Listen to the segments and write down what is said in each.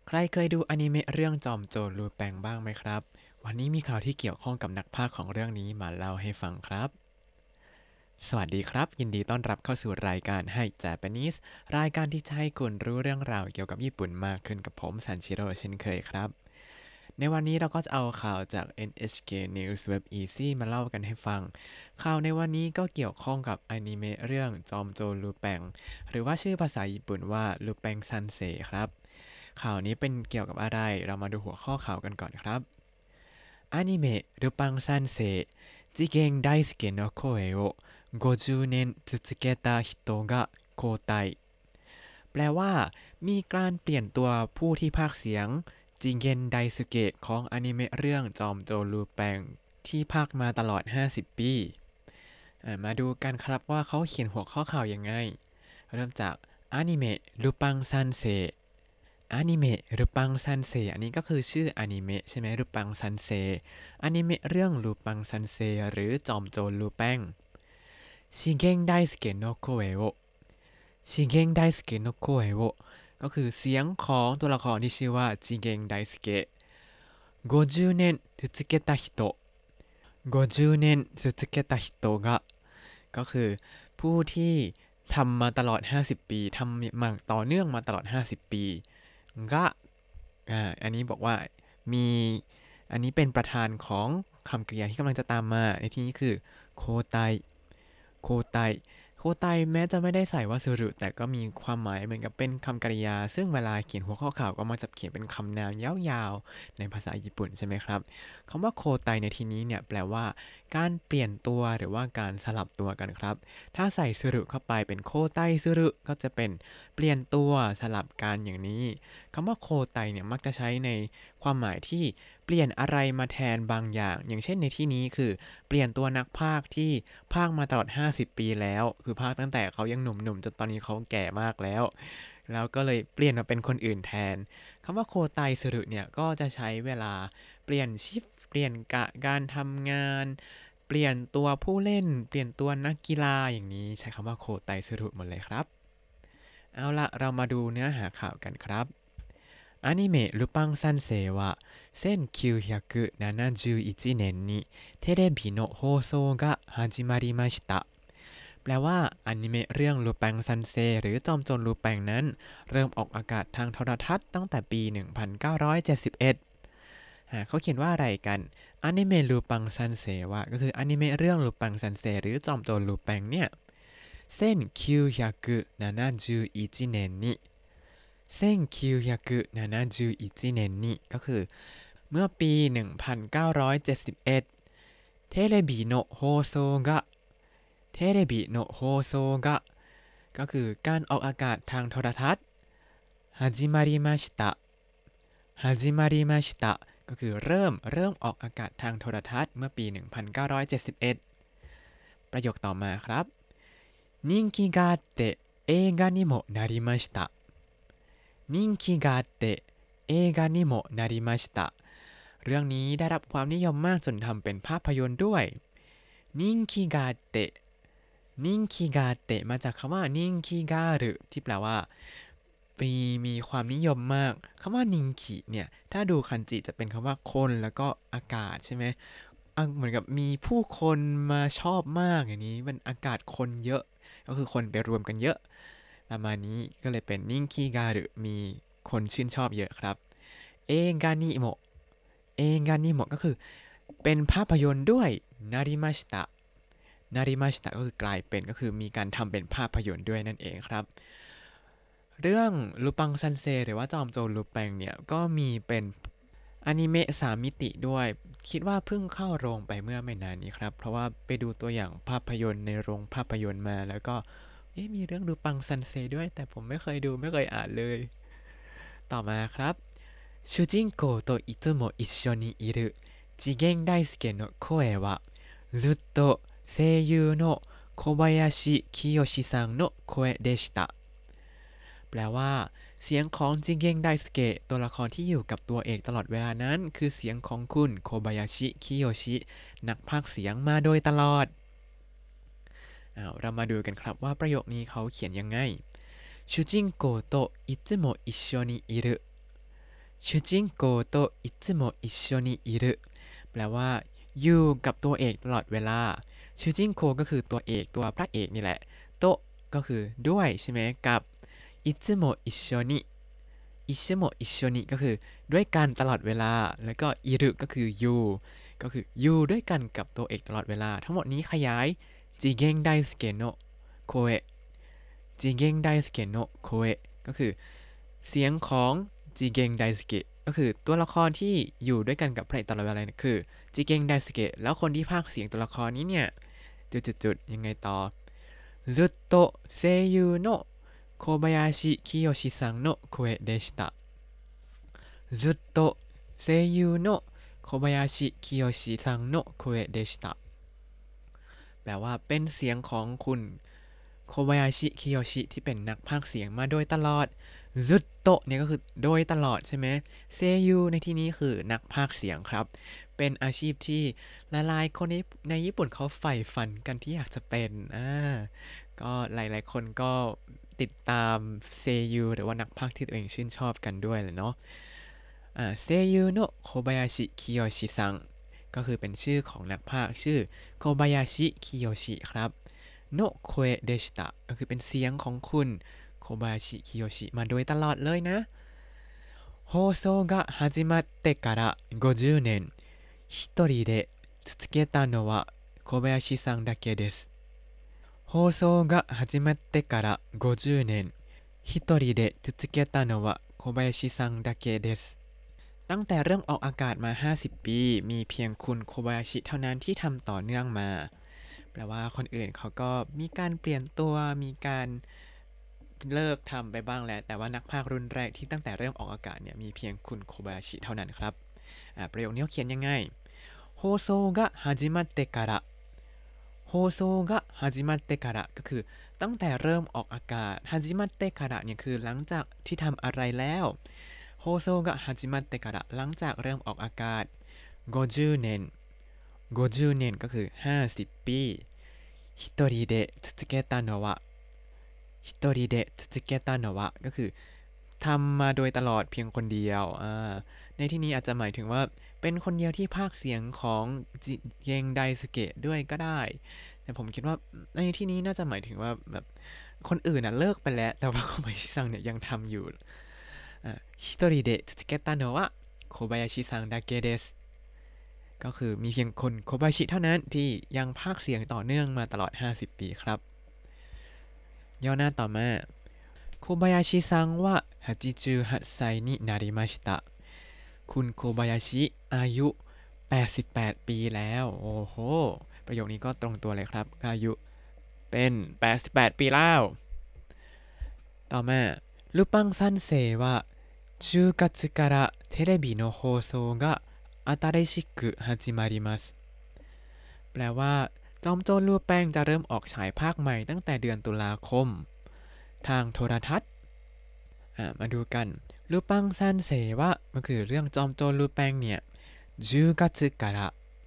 ใครเคยดูอนิเมะเรื่องจอมโจรลูแปงบ้างไหมครับวันนี้มีข่าวที่เกี่ยวข้องกับนักพากย์ของเรื่องนี้มาเล่าให้ฟังครับสวัสดีครับยินดีต้อนรับเข้าสู่รายการให้ Japanese รายการที่จะให้คุณรู้เรื่องราวเกี่ยวกับญี่ปุ่นมากขึ้นกับผมซันชิโร่เช่นเคยครับในวันนี้เราก็จะเอาข่าวจาก NHK News Web Easy มาเล่ากันให้ฟังข่าวในวันนี้ก็เกี่ยวข้องกับอนิเมะเรื่องจอมโจรลูแปงหรือว่าชื่อภาษาญี่ปุ่นว่าลูแปงซันเซ็ครับ ข่าวนี้เป็นเกี่ยวกับอะไร เรามาดูหัวข้อข่าวกันก่อนครับอนิเมะルパン三世次元大介の声を50年続けた人が交代แปลว่ามีการเปลี่ยนตัวผู้ที่พากย์เสียงจิเกนไดสึเกะของอนิเมะเรื่องจอมโจรลูแปงที่พากย์มาตลอด50ปีมาดูกันครับว่าเขาเขียนหัวข้อข่าวยังไงเริ่มจากอนิเมะルパン三世อนิเมะรูปังซันเซอันนี้ก็คือชื่ออนิเมะใช่ไหมรูปังซันเซอนิเมะเรื่องรูปังซันเซหรือจอมโจรลูแป้งชิเกงไดสเกะโนโคเอโอชิเกงไดสเกะโนโคเอโอก็คือเสียงของตัวละครที่ชื่อว่าชิเกงไดสเกะ50年続けた人50年続けた人がก็คือผู้ที่ทำมาตลอด50ปีทำมาต่อเนื่องมาตลอด50ปีก็อันนี้บอกว่ามีอันนี้เป็นประธานของคำกริยาที่กำลังจะตามมาในที่นี้คือโคไตโคไตโคไตแม้จะไม่ได้ใส่วาสุรุแต่ก็มีความหมายเหมือนกับเป็นคำกริยาซึ่งเวลาเขียนหัวข้อข่าวก็มักจะเขียนเป็นคำนามยาวๆในภาษาญี่ปุ่นใช่ไหมครับคำว่าโคไตในที่นี้เนี่ยแปลว่าการเปลี่ยนตัวหรือว่าการสลับตัวกันครับถ้าใส่สุรุเข้าไปเป็นโคไตสุรุก็จะเป็นเปลี่ยนตัวสลับกันอย่างนี้คำว่าโคไตเนี่ยมักจะใช้ในความหมายที่เปลี่ยนอะไรมาแทนบางอย่างอย่างเช่นในที่นี้คือเปลี่ยนตัวนักพากย์ที่พากย์มาตลอด50ปีแล้วคือพากย์ตั้งแต่เขายังหนุ่มๆจนตอนนี้เขาแก่มากแล้วก็เลยเปลี่ยนมาเป็นคนอื่นแทนคำว่าโคไตสุรุเนี่ยก็จะใช้เวลาเปลี่ยนชิฟเปลี่ยนกะการทำงานเปลี่ยนตัวผู้เล่นเปลี่ยนตัวนักกีฬาอย่างนี้ใช้คำว่าโคไตสุรุหมดเลยครับเอาละเรามาดูเนื้อหาข่าวกันครับ アニメ「ルパン三世」は1971年にテレビの放送が始まりましたแปลว่าอนิเมะเรื่องลูปังซันเซหรือจอมโจรลูปังนั้นเริ่มออกอากาศทางโทรทัศน์ตั้งแต่ปี1971เขาเขียนว่าอะไรกันอนิเมะลูปังซันเซว่าก็คืออนิเมะเรื่องลูปังซันเซหรือจอมโจรลูปังเนี่ย1971年に1971年にก็คือเมื่อปี1971เทเลบิโนะโฮโซกะเทเลบิโนะโฮโซกะก็คือการออกอากาศทางโทรทัศน์ฮาจิมาริมาชิตะฮาจิมาริมาชิตะก็คือเริ่มออกอากาศทางโทรทัศน์เมื่อปี1971ประโยคต่อมาครับ人気があって映画にもなりました人気があって映画にもなりましたเรื่องนี้ได้รับความนิยมมากจนทำเป็นภาพยนตร์ด้วยนิงคิกาเตะนิงคิกาเตะมาจากคำว่านิงคิกาหรือที่แปลว่ามีความนิยมมากคำว่านิงคิเนี่ยถ้าดูคันจิจะเป็นคำว่าคนแล้วก็อากาศใช่ไหมเหมือนกับมีผู้คนมาชอบมากอย่างนี้มันอากาศคนเยอะก็คือคนไปรวมกันเยอะประมาณนี้ก็เลยเป็นนิงคิกาหรือมีคนชื่นชอบเยอะครับเอกานิโมะเอกานิโมะก็คือเป็นภาพยนตร์ด้วยนาริมาชิตะนาริมาชิตะก็คือกลายเป็นก็คือมีการทำเป็นภาพยนตร์ด้วยนั่นเองครับเรื่องลูปังซันเซหรือว่าจอมโจรลูปังเนี่ยก็มีเป็นอนิเมะ3 มิติด้วยคิดว่าเพิ่งเข้าโรงไปเมื่อไม่นานนี้ครับเพราะว่าไปดูตัวอย่างภาพยนตร์ในโรงภาพยนตร์มาแล้วก็มีเรื่องลูปังซันเซด้วยแต่ผมไม่เคยดูไม่เคยอ่านเลยต่อมาครับ主人公といつも一緒にいる次元大介の声はずっと声優の小林清志さんの声でしたแปลว่าเสียงของจิเกงไดสเกะตัวละครที่อยู่กับตัวเอกตลอดเวลานั้นคือเสียงของคุณโคบายาชิคิโยชินักพากย์เสียงมาโดยตลอดเรามาดูกันครับว่าประโยคนี้เขาเขียนยังไง主人公といつも一緒にいる主人公といつも一緒にいるแปลว่าอยู่กับตัวเอกตลอดเวลาชูจินโคก็คือตัวเอกตัวพระเอกนี่แหละโตะก็คือด้วยใช่ไหมกับอิซึโมะอิโชนิอิซึโมะอิโชนิก็คือด้วยกันตลอดเวลาแล้วก็อิรุก็คืออยู่ก็คืออยู่ด้วยกันกับตัวเอกตลอดเวลาทั้งหมดนี้ขยายจิเกงไดสเกโนะโคเอะจิเกงไดสเกโนะโคเอะก็คือเสียงของจิเกงไดสเกะก็คือตัวละครที่อยู่ด้วยกันกับพระเอกตลอดเวลาเนี่ยคือจิเกงไดสเกะแล้วคนที่พากย์เสียงตัวละครนี้เนี่ยจุดๆยังไงต่อずっと声優の小林清さんの声でしたずっと声優の小林清さんの声でしたแปลว่าเป็นเสียงของคุณโคบายาชิคิโยชิที่เป็นนักพากย์เสียงมาโดยตลอดซึโตะเนี่ยก็คือโดยตลอดใช่ไหมเซยูในที่นี้คือนักพากย์เสียงครับเป็นอาชีพที่หลายๆคนในญี่ปุ่นเขาใฝ่ฝันกันที่อยากจะเป็นก็หลายๆคนก็ติดตามเซยูหรือว่านักพากย์ที่ตัวเองชื่นชอบกันด้วยแหละเนาะเซยูโนะโคบายาชิคิโยชิซังก็คือเป็นชื่อของนักพากย์ชื่อโคบายาชิคิโยชิครับโนะโคเอะเดชิตะก็คือเป็นเสียงของคุณโคบายาชิคิโยชิมาโดยตลอดเลยนะ放送が始まってから50年一人で続けたのは小林さんだけです放送が始まってから50年一人で続けたのは小林さんだけですตั้งแต่เริ่มออกอากาศมา50ปีมีเพียงคุณโคบายาชิเท่านั้นที่ทำต่อเนื่องมาแปลว่าคนอื่นเขาก็มีการเปลี่ยนตัวมีการเลิกทำไปบ้างแล้วแต่ว่านักพากย์รุ่นแรกที่ตั้งแต่เริ่มออกอากาศเนี่ยมีเพียงคุณโคบายาชิเท่านั้นครับประโยคนี้เขียนยังไงโฮโซกะฮาจิมัตเตะการะโฮโซกะฮาจิมัตเตะการะก็คือตั้งแต่เริ่มออกอากาศฮาจิมัตเตะการะเนี่ยคือหลังจากที่ทำอะไรแล้วโฮโซกะฮาจิมัตเตะการะหลังจากเริ่มออกอากาศ50年50年ก็คือ50ปี一人で続けたのは一人で続けたのはก็คือทำมาโดยตลอดเพียงคนเดียวในที่นี้อาจจะหมายถึงว่าเป็นคนเดียวที่พากย์เสียงของจิเกงไดสเกะด้วยก็ได้แต่ผมคิดว่าในที่นี้น่าจะหมายถึงว่าแบบคนอื่นเลิกไปแล้วแต่ว่าโคบายาชิซังเนี่ยยังทำอยู่一人で続けたのは小林さんだけですก็คือมีเพียงคนโคบายาชิเท่านั้นที่ยังพากย์เสียงต่อเนื่องมาตลอด50ปีครับย่อหน้าต่อมาโคบายาชิซังว่า88歳になりましたคุณโคบายาชิอายุ88ปีแล้วโอ้โหประโยคนี้ก็ตรงตัวเลยครับอายุเป็น88ปีแล้วต่อมาルパン三世は10月からテレビの放送が新しく始まりますแปลว่าจอมโจรลูแปงจะเริ่มออกฉายภาคใหม่ตั้งแต่เดือนตุลาคมทางโทรทัศน์มาดูกันลูปังซันเซวะมันคือเรื่องจอมโจรลูแปงเนี่ย10月から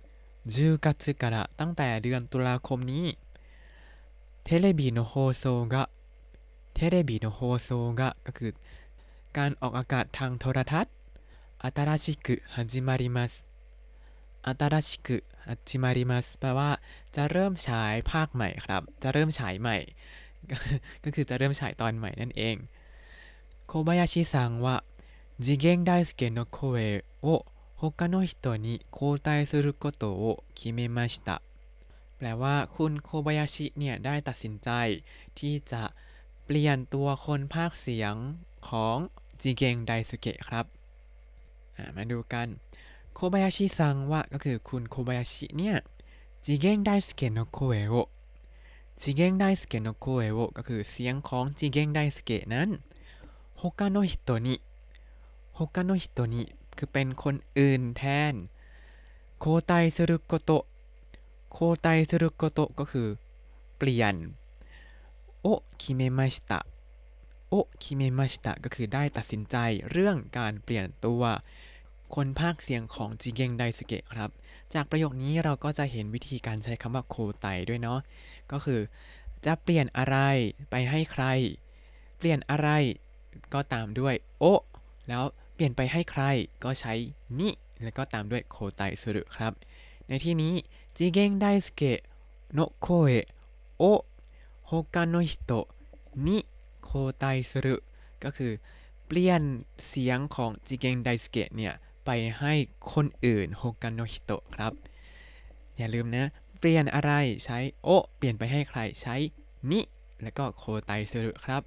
10月からตั้งแต่เดือนตุลาคมนี้テレビの放送がテレビの放送がก็คือการออกอากาศทางโทรทัศน์新しく始まります新しく始まりますแปลว่าจะเริ่มฉายภาคใหม่ครับจะเริ่มฉายใหม่ก็คือจะเริ่มฉายตอนใหม่นั่นเองโคบายาชิซังว่า次元大介の声を他の人に交代することを決めましたแปลว่าคุณโคบายาชิเนี่ยได้ตัดสินใจที่จะเปลี่ยนตัวคนพากย์เสียงของจิเกงไดสุเกะครับมาดูกันโคบายาชิซังว่าก็คือคุณโคบายาชิเนี่ยจิเกงไดสุเกะโนโคเอะโอจิเกงไดสุเกะโนโคเอะโอก็คือเสียงของจิเกงไดสุเกะนั้นฮกาโนฮิโตนิฮกาโนฮิโตนิคือเป็นคนอื่นแทนโคไตซึรุโกโตะโคไตซึรุโกโตะก็คือเปลี่ยนโอคิเมมาชิตะโอคิเมมาชิตะก็คือได้ตัดสินใจเรื่องการเปลี่ยนตัวคนพากย์เสียงของจิเกงไดสุเกะครับจากประโยคนี้เราก็จะเห็นวิธีการใช้คำว่าโคไตด้วยเนาะก็คือจะเปลี่ยนอะไรไปให้ใครเปลี่ยนอะไรก็ตามด้วยโอแล้วเปลี่ยนไปให้ใครก็ใช้นิแล้วก็ตามด้วยโคไตสึรุครับในที่นี้จิเกงไดสเกะโนะโคเอะโอะโฮกาโนฮิโตะนิโคไตสึรุก็คือเปลี่ยนเสียงของจิเกงไดสเกะเนี่ยไปให้คนอื่นโฮกาโนฮิโตะครับอย่าลืมนะเปลี่ยนอะไรใช้โอะเปลี่ยนไปให้ใครใช้นิแล้วก็โคไตสึรุครับ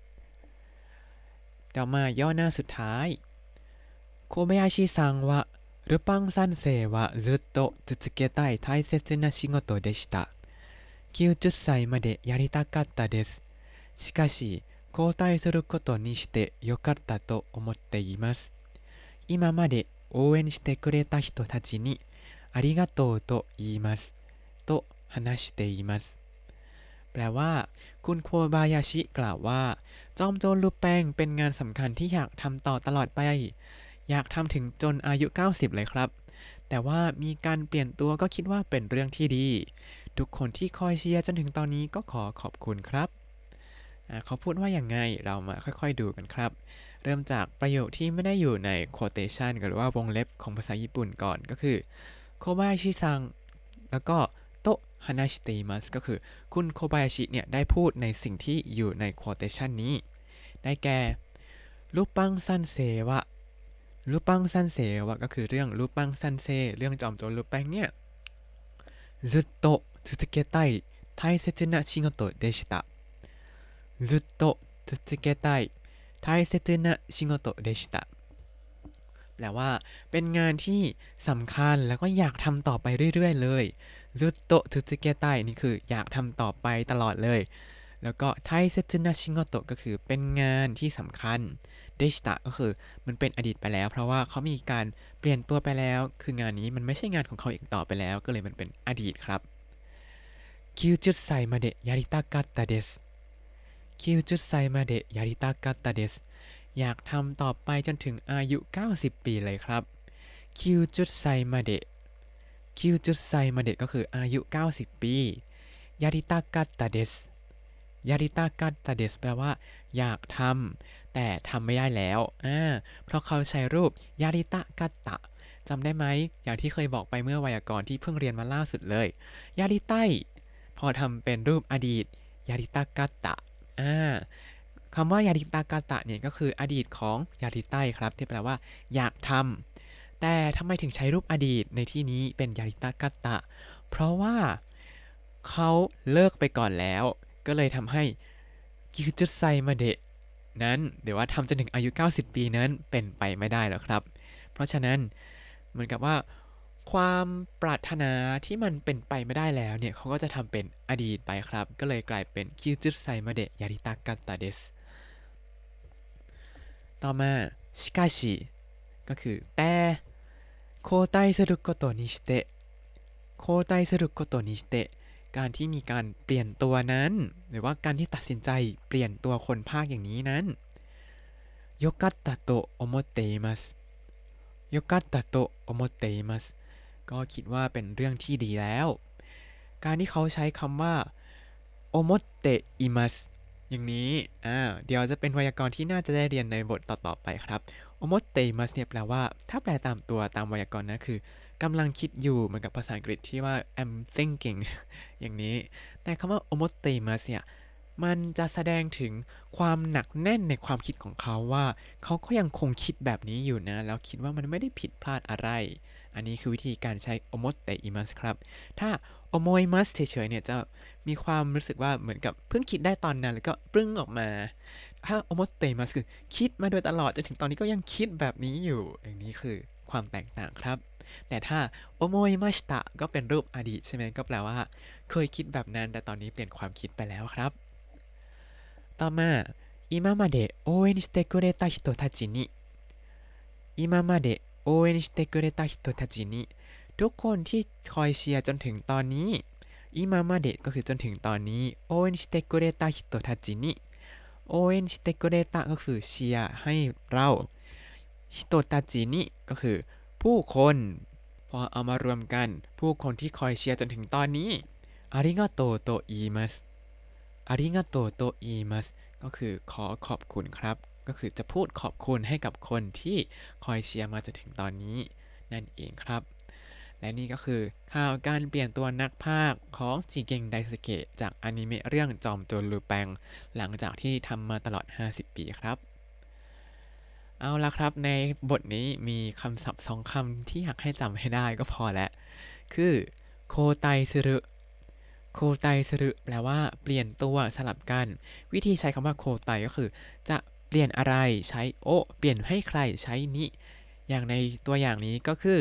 ต่อมาย่อหน้าสุดท้ายโคเบยาชิซังวะルパン三世はずっと続けたい大切な仕事でした。90歳までやりたかったです。しかし、交代することにしてよかったと思っています。今まで応援してくれた人たちにありがとうと言います。と話しています。แปลว่าคุณโคบายาชิกล่าวว่าจอมโจรลูแปงเป็นงานสำคัญที่อยากทำต่อตลอดไปอยากทำถึงจนอายุ90เลยครับแต่ว่ามีการเปลี่ยนตัวก็คิดว่าเป็นเรื่องที่ดีทุกคนที่คอยเชียร์จนถึงตอนนี้ก็ขอขอบคุณครับเขาพูดว่าอย่างไงเรามาค่อยๆดูกันครับเริ่มจากประโยคที่ไม่ได้อยู่ใน quotation หรือว่าวงเล็บของภาษาญี่ปุ่นก่อนก็คือโคบายาชิซังแล้วก็โตะฮานาชิเตมัสก็คือคุณโคบายาชิเนี่ยได้พูดในสิ่งที่อยู่ใน quotation นี้ได้แก่รูปปังซันเซวะรูปปังซันเซวะก็คือเรื่องรูปปังซันเซเรื่องจอมโจรรูปแป้งเนี่ยずっと続けたい大切な仕事でしたずっと続けたい大切な仕事でしたแปลว่าเป็นงานที่สำคัญแล้วก็อยากทำต่อไปเรื่อยๆเลยずっと続けたいนี่คืออยากทำต่อไปตลอดเลยแล้วก็大切な仕事ก็คือเป็นงานที่สำคัญเดชิตะก็คือมันเป็นอดีตไปแล้วเพราะว่าเขามีการเปลี่ยนตัวไปแล้วคืองานนี้มันไม่ใช่งานของเขาอีกต่อไปแล้วก็เลยมันเป็นอดีตครับ90歳までやりたかったです90歳までやりたかったですอยากทำต่อไปจนถึงอายุ90ปีเลยครับ90歳まで90歳までก็คืออายุ90ปีやりたかったですยาริตากัตตาเดสแปลว่าอยากทำแต่ทำไม่ได้แล้วเพราะเขาใช้รูปยาริตะกัตตะจำได้ไหมอย่างที่เคยบอกไปเมื่อไวยากรณ์ที่เพิ่งเรียนมาล่าสุดเลยยาริไตพอทำเป็นรูปอดีตยาริตากัตตะคำว่ายาริตากัตตะเนี่ยก็คืออดีตของยาริไตครับที่แปลว่าอยากทำแต่ทำไมถึงใช้รูปอดีตในที่นี้เป็นยาริตากัตตะเพราะว่าเขาเลิกไปก่อนแล้วก็เลยทำให้90歳までนั้นหรือว่าทำจนถึงอายุ90ปีนั้นเป็นไปไม่ได้แล้วครับเพราะฉะนั้นเหมือนกับว่าความปรารถนาที่มันเป็นไปไม่ได้แล้วเนี่ยเขาก็จะทำเป็นอดีตไปครับก็เลยกลายเป็น90歳までやりたかったですต่อมาしかしก็คือแต่交代することにして交代することにしてการที่มีการเปลี่ยนตัวนั้นหรือว่าการที่ตัดสินใจเปลี่ยนตัวคนภาคอย่างนี้นั้นよかったと思っていますよかったと思っていますก็คิดว่าเป็นเรื่องที่ดีแล้วการที่เขาใช้คำว่าโอโมเตอิมัสอย่างนี้เดี๋ยวจะเป็นไวยากรณ์ที่น่าจะได้เรียนในบทต่อๆไปครับโอโมเตอิมัสเนี่ยแปลว่าถ้าแปลตามตัวตามไวยากรณ์นะคือกำลังคิดอยู่เหมือนกับภาษาอังกฤษที่ว่า I'm thinking อย่างนี้แต่คำว่า omotemas เนี่ยมันจะแสดงถึงความหนักแน่นในความคิดของเขาว่าเขาก็ยังคงคิดแบบนี้อยู่นะแล้วคิดว่ามันไม่ได้ผิดพลาดอะไรอันนี้คือวิธีการใช้ omotemas ครับถ้า omoimas เฉยๆเนี่ยจะมีความรู้สึกว่าเหมือนกับเพิ่งคิดได้ตอนนั้นแล้วก็ปรึ้งออกมาถ้า omotemas คือคิดมาโดยตลอดจนถึงตอนนี้ก็ยังคิดแบบนี้อยู่อย่างนี้คือความแตกต่างครับแต่ถ้าโอโมยมาชิตะก็เป็นรูปอดีตใช่ไหมก็แปลว่าเคยคิดแบบนั้นแต่ตอนนี้เปลี่ยนความคิดไปแล้วครับต่อมา今まで応援してくれた人たちに今まで応援してくれた人たちにทุกคนที่คอยเชียร์จนถึงตอนนี้今までก็คือจนถึงตอนนี้応援してくれた人たちに応援してくれたก็คือเชียร์ให้เรา人たちにก็คือผู้คนพอเอามารวมกันผู้คนที่คอยเชียร์จนถึงตอนนี้อาริกาโตโตอิมัสอาริกาโตโตอิมัสก็คือขอขอบคุณครับก็คือจะพูดขอบคุณให้กับคนที่คอยเชียร์มาจนถึงตอนนี้นั่นเองครับและนี่ก็คือข่าวการเปลี่ยนตัวนักพากย์ของจิเกงไดสึเกะจากอนิเมะเรื่องจอมโจรลูแปงหลังจากที่ทำมาตลอด50 ปีครับเอาละครับในบทนี้มีคำศัพท์2 คำที่อยากให้จำให้ได้ก็พอแล้วคือโคไตซึรุโคไตซึรุแปลว่าเปลี่ยนตัวสลับกันวิธีใช้คำว่าโคไตก็คือจะเปลี่ยนอะไรใช้โอเปลี่ยนให้ใครใช้นิอย่างในตัวอย่างนี้ก็คือ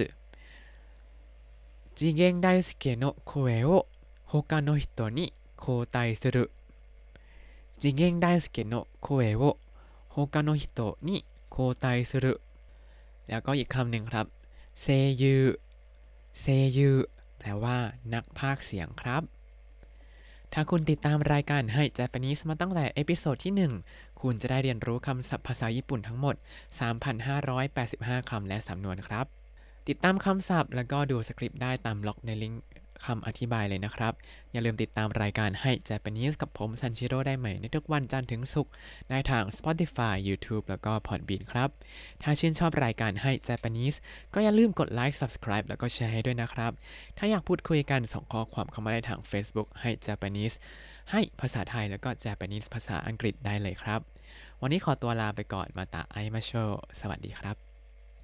次元大介の声を他の人に交代する次元大介の声を他の人に交代するแล้วก็อีกคำหนึ่งครับเซยูเซยูแปลว่านักพากย์เสียงครับถ้าคุณติดตามรายการให้ Japanese มาตั้งแต่เอพิโซดที่1คุณจะได้เรียนรู้คำศัพท์ภาษาญี่ปุ่นทั้งหมด 3,585 คำและสำนวนครับ ติดตามคำศัพท์แล้วก็ดูสคริปต์ได้ตามล็อกในลิงก์คำอธิบายเลยนะครับอย่าลืมติดตามรายการให้ Japanese กับผมซันชิโร่ได้ใหม่ในทุกวันจันทร์ถึงศุกร์ได้ทาง Spotify YouTube แล้วก็ Podbean ครับถ้าชื่นชอบรายการให้ Japanese ก็อย่าลืมกดไลค์ Subscribe แล้วก็แชร์ให้ด้วยนะครับถ้าอยากพูดคุยกันส่งข้อความเข้ามาได้ทาง Facebook ให้ Japanese ให้ภาษาไทยแล้วก็ Japanese ภาษาอังกฤษได้เลยครับวันนี้ขอตัวลาไปก่อนมาตาไอมาโชสวัสดีครับ